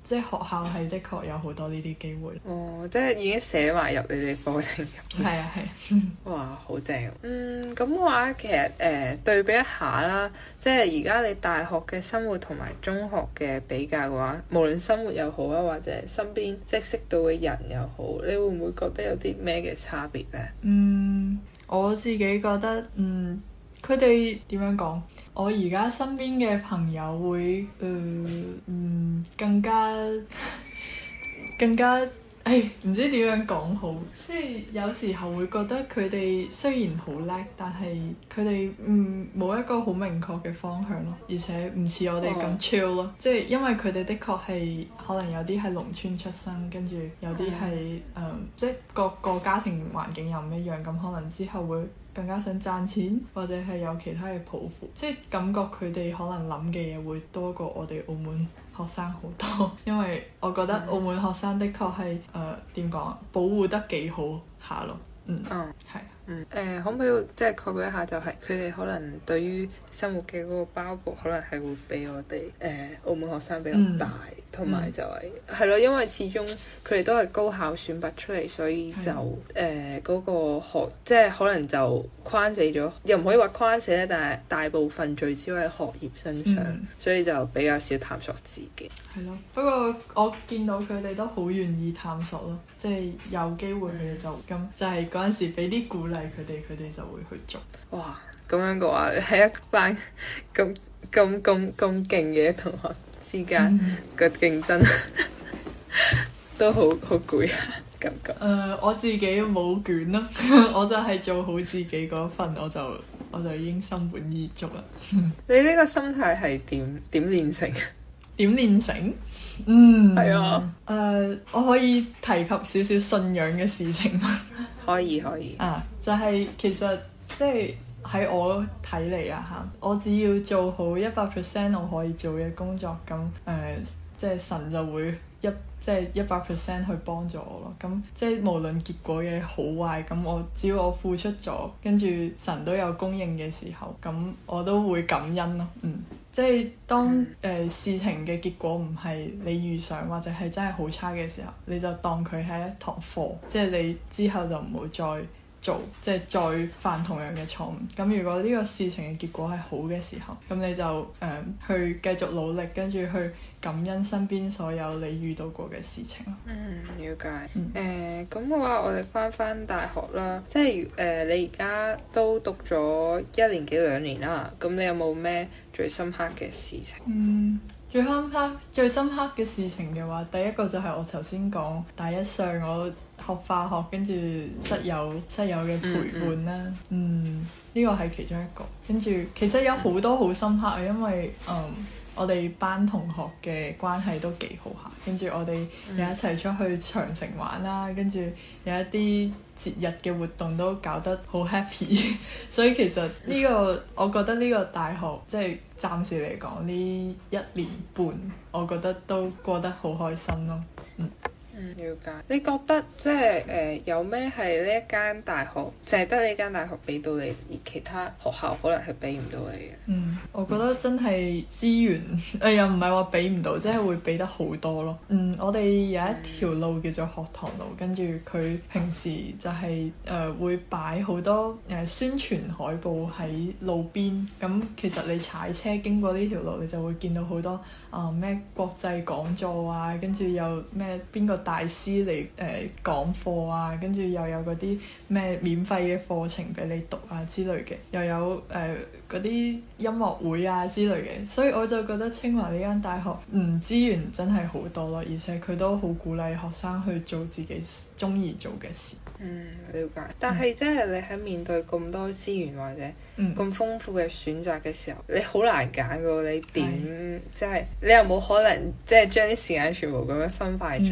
即係學校係的確有好多呢啲機會。 哦，即係已經寫埋入你哋課程入面。 係啊係。 哇，好正！嗯，咁嘅話其實誒、呃、對比一下啦，即係而家你大學嘅生活同埋中學嘅比較嘅話，無論生活又好啊，或者身邊即係識到嘅人又好，你會唔會覺得有啲咩嘅差別呢？ 嗯，我自己覺得，嗯，佢哋點樣講？我而家身邊嘅朋友會，誒、呃，嗯，更加更加。誒唔知點樣講好，即係有時候會覺得佢哋雖然好叻，但係佢哋嗯冇一個好明確嘅方向咯，而且唔似我哋咁 chill 咯。即係因為佢哋的確係可能有啲係農村出生，跟住有啲係誒，即係各個家庭環境又唔一樣，咁可能之後會更加想賺錢，或者係有其他嘅抱負，即係感覺佢哋可能諗嘅嘢會多過我哋澳門學生好多，因為我覺得澳門學生的確係誒點講啊，保護得幾好下咯，嗯，係、嗯。 嗯，誒、呃，可唔可以即係概括一下，就係佢哋可能對於生活嘅嗰個包袱，可能係會比我哋誒、呃、澳門學生比較大，同埋、嗯、就係係咯，因為始終佢哋都係高考選拔出嚟，所以就誒嗰、呃嗰個學，即係可能就框死咗，又唔可以話框死咧，但係大部分聚焦喺學業身上，嗯、所以就比較少探索自己。 係咯，不過我見到佢哋都好願意探索咯，即係有機會佢哋就咁，就係嗰陣時俾啲鼓勵佢哋，佢哋就會去做。 哇，咁樣嘅話，喺一班咁咁咁咁勁嘅同學之間嘅競爭，都好好攰啊，感覺。誒、 呃，我自己冇卷咯，我就係做好自己嗰份，我就我就已經心滿意足啦。 你呢個心態係點點練成？ 點練成？嗯， 係啊。 誒、呃，我可以提及少少信仰嘅事情嗎？ 可以可以。 啊，就係、是、其實即係喺我睇嚟啊嚇，我只要做好一百 percent 我可以做嘅工作，咁誒、呃，即係神就會一即係一百 percent 去幫助我咯。咁即係無論結果嘅好壞，咁我只要我付出咗，跟住神都有供應嘅時候，咁我都會感恩咯。嗯。即係當誒、呃、事情嘅結果唔係你預想，或者係真係好差嘅時候，你就當佢係一堂課，即係你之後就唔好再做，即係再犯同樣嘅錯誤。咁如果呢個事情嘅結果係好嘅時候，咁你就誒、呃、去繼續努力，跟住去感恩身邊所有你遇到過嘅事情咯。 嗯，了解。誒咁嘅話，我哋翻翻大學啦，即係誒、呃、你而家都讀咗一年幾兩年啦，咁你有冇咩最深刻嘅事情？ 嗯，最深刻最深刻嘅事情嘅話，第一個就係我頭先講大一上我學化學，跟住室友室友嘅陪伴啦。嗯，呢、嗯這個係其中一個。跟住其實有好多好深刻啊，因為嗯。我哋班同學嘅關係都幾好下，跟住我哋又一齊出去長城玩啦，跟住有一啲節日嘅活動都搞得好 happy，所以其實呢、呢個我覺得呢個大學即係暫時嚟講呢一年半，我覺得都過得好開心咯。嗯。 嗯，了解。你覺得即係誒、呃、有咩係呢一間大學，淨係得呢間大學俾到你，而其他學校可能係俾唔到你嘅？ 嗯，我覺得真係資源誒、呃、又唔係話俾唔到，即係會俾得好多咯。嗯，我哋有一條路叫做學堂路，跟住佢平時就係、是、誒、呃、會擺好多誒、呃、宣傳海報喺路邊。咁其實你踩車經過呢條路，你就會見到好多啊咩、呃、國際講座啊，跟住又咩邊個大師嚟誒、呃、講課啊，跟住又有嗰啲咩免費嘅課程俾你讀啊之類嘅，又有誒嗰啲音樂會啊之類嘅，所以我就覺得清華呢間大學嗯資源真係好多咯，而且佢都好鼓勵學生去做自己中意做嘅事。 嗯，了解。但係即係你喺面對咁多資源或者咁豐富嘅選擇嘅時候，嗯、你好難揀㗎喎。你點即係你又冇可能即係將啲時間全部咁樣分派，嗯、即係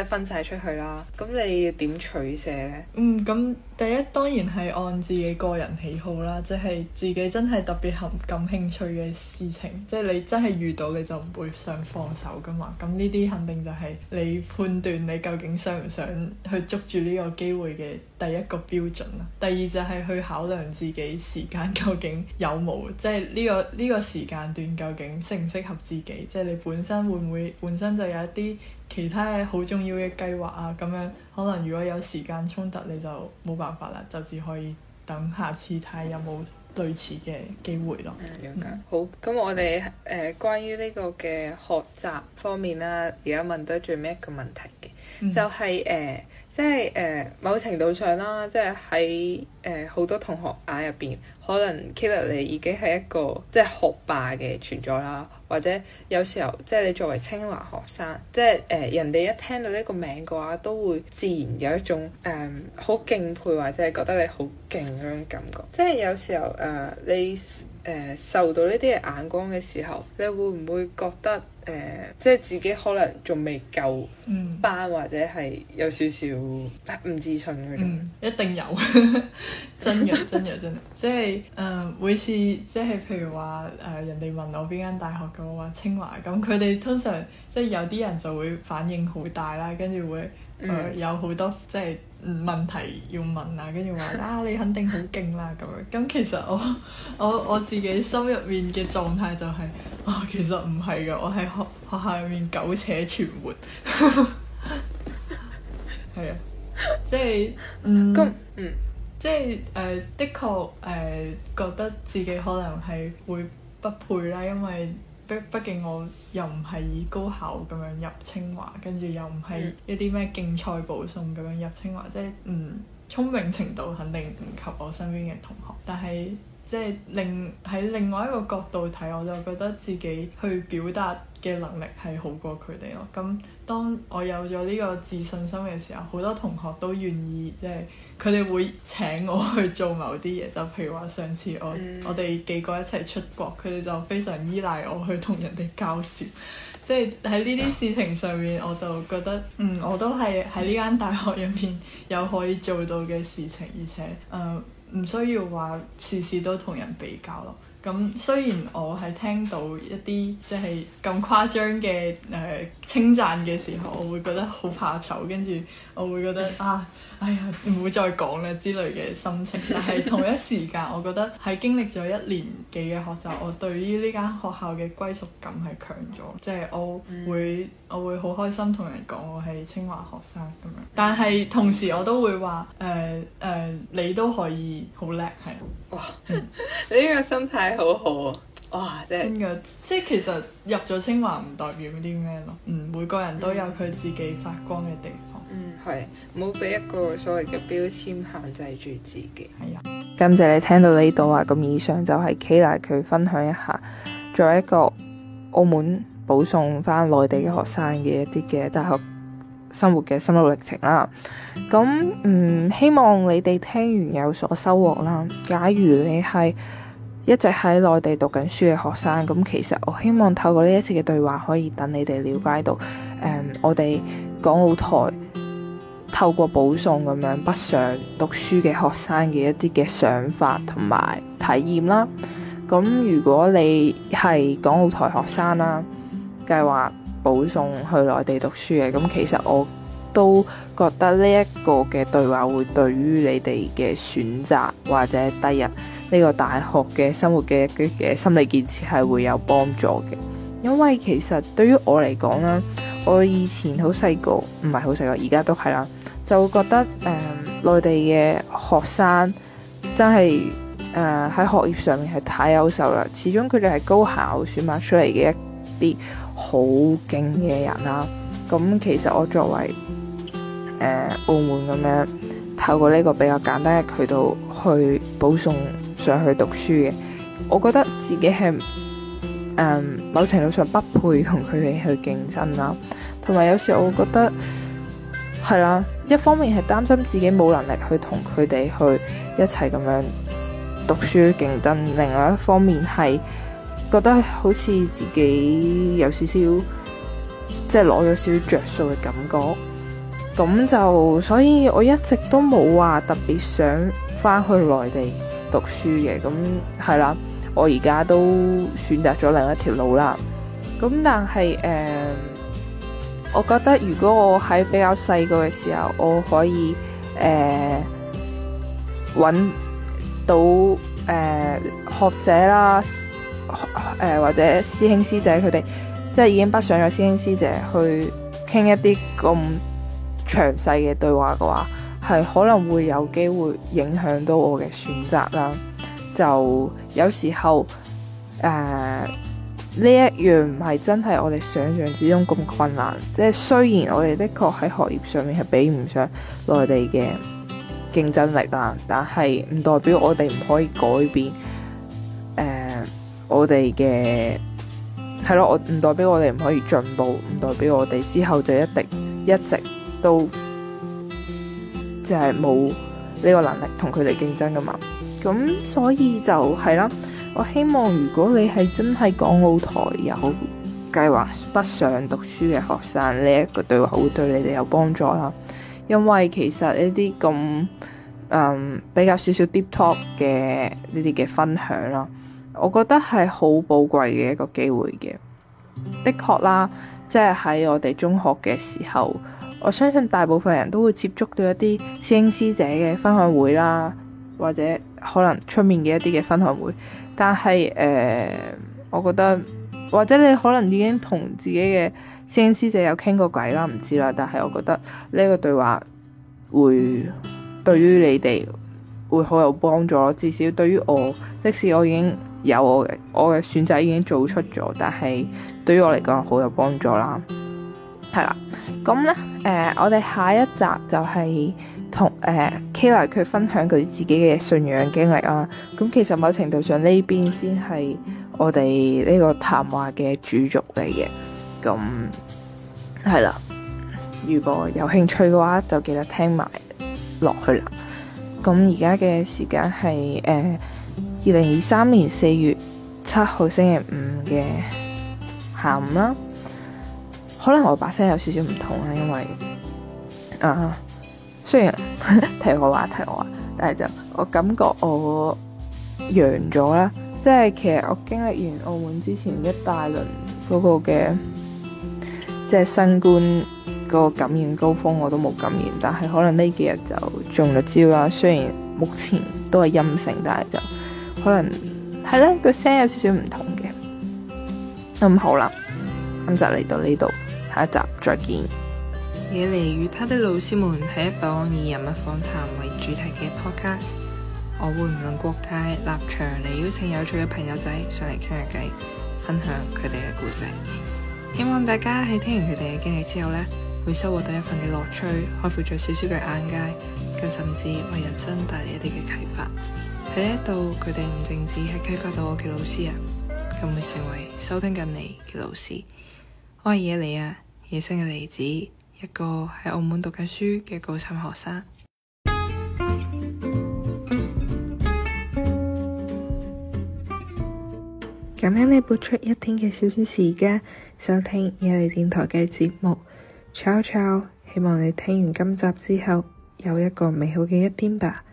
分晒出去啦。咁你要點取捨呢？ 嗯，咁第一當然係按自己個人喜好啦，即係自己真係特別感感興趣嘅事情，即係你真係遇到你就唔會想放手噶嘛。咁呢啲肯定就係你判斷你究竟想唔想去捉住呢個機會嘅第一個標準啦。第二就係去考量自己時間究竟有冇，即係呢個呢個時間段究竟適唔適合自己，即係你本身會唔會本身就有一啲其他嘅好重要嘅計劃啊，咁樣可能如果有時間衝突你就冇辦法啦，就只可以等下次睇下有冇類似嘅機會咯。 嗯，了解。嗯、好，咁我哋誒、呃、關於呢個嘅學習方面啦，而家問到最尾一個問題嘅，嗯、就係、是、誒。呃即係誒、呃、某程度上啦，即係喺誒好多同學眼入邊，可能 Kayla 你已經係一個即係學霸嘅存在啦，或者有時候即係你作為清華學生，即係誒、呃、人哋一聽到呢個名嘅話，都會自然有一種誒好、呃、敬佩或者係覺得你好勁嗰種感覺。即係有時候誒、呃、你誒、呃、受到呢啲嘅眼光嘅時候，你會唔會覺得？誒、呃，即係自己可能仲未夠班，嗯、或者係有少少唔自信嗰種、 嗯。一定有，真嘅真嘅真嘅，即係誒、呃、每次即係譬如話誒、呃、人哋問我邊間大學嘅，我話清華，咁佢哋通常即係有啲人就會反應好大啦，跟住會誒、呃嗯、有好多即係問題要問啊，跟住話啊你肯定好勁啦咁樣。咁其實我我我自己心入面嘅狀態就係、是。哦，其實唔係㗎，我喺學學校入面苟且存活，係啊，即係嗯，嗯，即係誒、呃，的確誒、呃，覺得自己可能係會不配啦，因為畢畢竟我又唔係以高考咁樣入清華，跟住又唔係一啲咩競賽保送咁樣入清華，即係嗯，聰明程度肯定唔及我身邊嘅同學，但係。即係另喺另外一個角度睇，我就覺得自己去表達嘅能力係好過佢哋咯。咁當我有咗呢個自信心嘅時候，好多同學都願意即係佢哋會請我去做某啲嘢。就譬如話上次我、嗯、我哋幾個一齊出國，佢哋就非常依賴我去同人哋交涉。即係喺呢啲事情上面，我就覺得嗯，我都係喺呢間大學入面有可以做到嘅事情，而且誒。呃唔需要話事事都同人比較咯。咁雖然我係聽到一啲即係咁誇張嘅誒稱讚嘅時候，我會覺得好怕醜，跟住我會覺得啊，哎呀唔會再講啦之類嘅心情。但係同一時間，我覺得喺經歷咗一年幾嘅學習，我對於呢間學校嘅歸屬感係強咗，即係我會、嗯、我會好開心同人講我係清華學生咁樣。但係同時我都會話誒誒，你都可以好叻係。哇！嗯、 你呢個心態好好啊！哇，真係嘅，即係其實入咗清華唔代表啲咩咯。嗯，每個人都有佢自己發光嘅地方。 嗯，係，冇俾一個所謂嘅標籤限制住自己。 係啊， 感謝你聽到呢度啊！咁以上就係 Kayla 佢分享一下作為一個澳門保送翻內地嘅學生嘅一啲嘅大學生活嘅心路歷程啦。咁嗯，希望你哋聽完有所收穫啦。假如你係一直喺內地讀緊書嘅學生，咁其實我希望透過呢一次嘅對話，可以等你哋了解到誒、嗯，我哋港澳台透過保送咁樣北上讀書嘅學生嘅一啲嘅想法同埋體驗啦。咁如果你係港澳台學生啦，計劃保送去內地讀書嘅，咁其實我都覺得呢一個嘅對話會對於你哋嘅選擇或者第日呢個大學嘅生活嘅嘅心理建設係會有幫助嘅。因為其實對於我嚟講啦，我以前好細個，唔係好細個，而家都係啦，就會覺得誒、呃、內地嘅學生真係誒喺學業上面係太優秀啦。始終佢哋係高考選拔出嚟嘅一啲好勁嘅人啦。咁其實我作為誒、呃、澳門咁樣透過呢個比較簡單嘅渠道去保送上去讀書嘅，我覺得自己係誒、呃、某程度上不配同佢哋去競爭啦。同埋有，有時我會覺得係啦，一方面係擔心自己冇能力去同佢哋去一齊咁樣讀書競爭，另外一方面係覺得好似自己有少少即係攞咗少少着數嘅感覺。 咁就所以我一直都冇話特別想翻去內地讀書嘅。咁係啦，我而家都選擇咗另一條路啦。咁但係誒、呃，我覺得如果我喺比較細個嘅時候，我可以誒揾、呃、到誒、呃、學者啦，誒、呃、或者師兄師姐佢哋，即係已經北上咗師兄師姐去傾一啲咁詳細嘅對話嘅話，係可能會有機會影響到我嘅選擇啦。就有時候誒呢一樣唔係真係我哋想象之中咁困難，即係雖然我哋的確喺學業上面係比唔上內地嘅競爭力啦，但係唔代表我哋唔可以改變誒、呃、我哋嘅係咯，我唔代表我哋唔可以進步，唔代表我哋之後就一定一直都即係冇呢個能力同佢哋競爭噶嘛。咁所以就係啦，我希望如果你係真係港澳台有計劃北上讀書嘅學生，呢一個對話會對你哋有幫助啦。因為其實呢啲咁嗯比較少少 deep talk 嘅呢啲嘅分享啦，我覺得係好寶貴嘅一個機會嘅。的確啦，即係喺我哋中學嘅時候，我相信大部分人都會接觸到一啲師兄師姐嘅分享會啦，或者可能出面嘅一啲嘅分享會。但係誒、呃，我覺得或者你可能已經同自己嘅師兄師姐有傾過偈啦，唔知啦。但係我覺得呢個對話會對於你哋會好有幫助咯。至少對於我，即使我已經有我嘅我嘅選擇已經做出咗，但係對於我嚟講好有幫助啦。係啦，咁咧誒，我哋下一集就係同誒 Kayla 佢分享佢自己嘅信仰經歷啦。咁其實某程度上呢邊先係我哋呢個談話嘅主軸嚟嘅。咁係啦，如果有興趣嘅話，就記得聽埋落去啦。咁而家嘅時間係誒二零二三年四月七號星期五嘅下午啦。可能我把聲有少少唔同啦，因為啊，雖然提我話提我話，但係就我感覺我陽咗啦。即係其實我經歷完澳門之前一大輪嗰個嘅即係新冠嗰個感染高峰，我都冇感染，但係可能呢幾日就中咗招啦。雖然目前都係陰性，但係就可能係咧個聲有少少唔同嘅。咁、嗯、好啦，咁就嚟到呢度。下一集再見。 野梨與他的老師們係一檔以人物訪談為主題嘅 podcast， 我會唔論國界立場嚟邀請有趣嘅朋友仔上嚟傾下偈，分享佢哋嘅故仔。希望大家喺聽完佢哋嘅經歷之後呢，會收穫到一份嘅樂趣，開闊咗少少嘅眼界，更甚至為人生帶嚟一啲嘅啟發。喺呢一度，佢哋唔淨止係啟發到我嘅老師啊，更會成為收聽緊你嘅老師。我係野梨啊，野生嘅梨子，一個喺澳門讀緊書嘅高三學生。感恩你撥出一天嘅少少時間收聽野梨電台嘅節目。Ciao ciao，希望你聽完今集之後有一個美好嘅一天吧。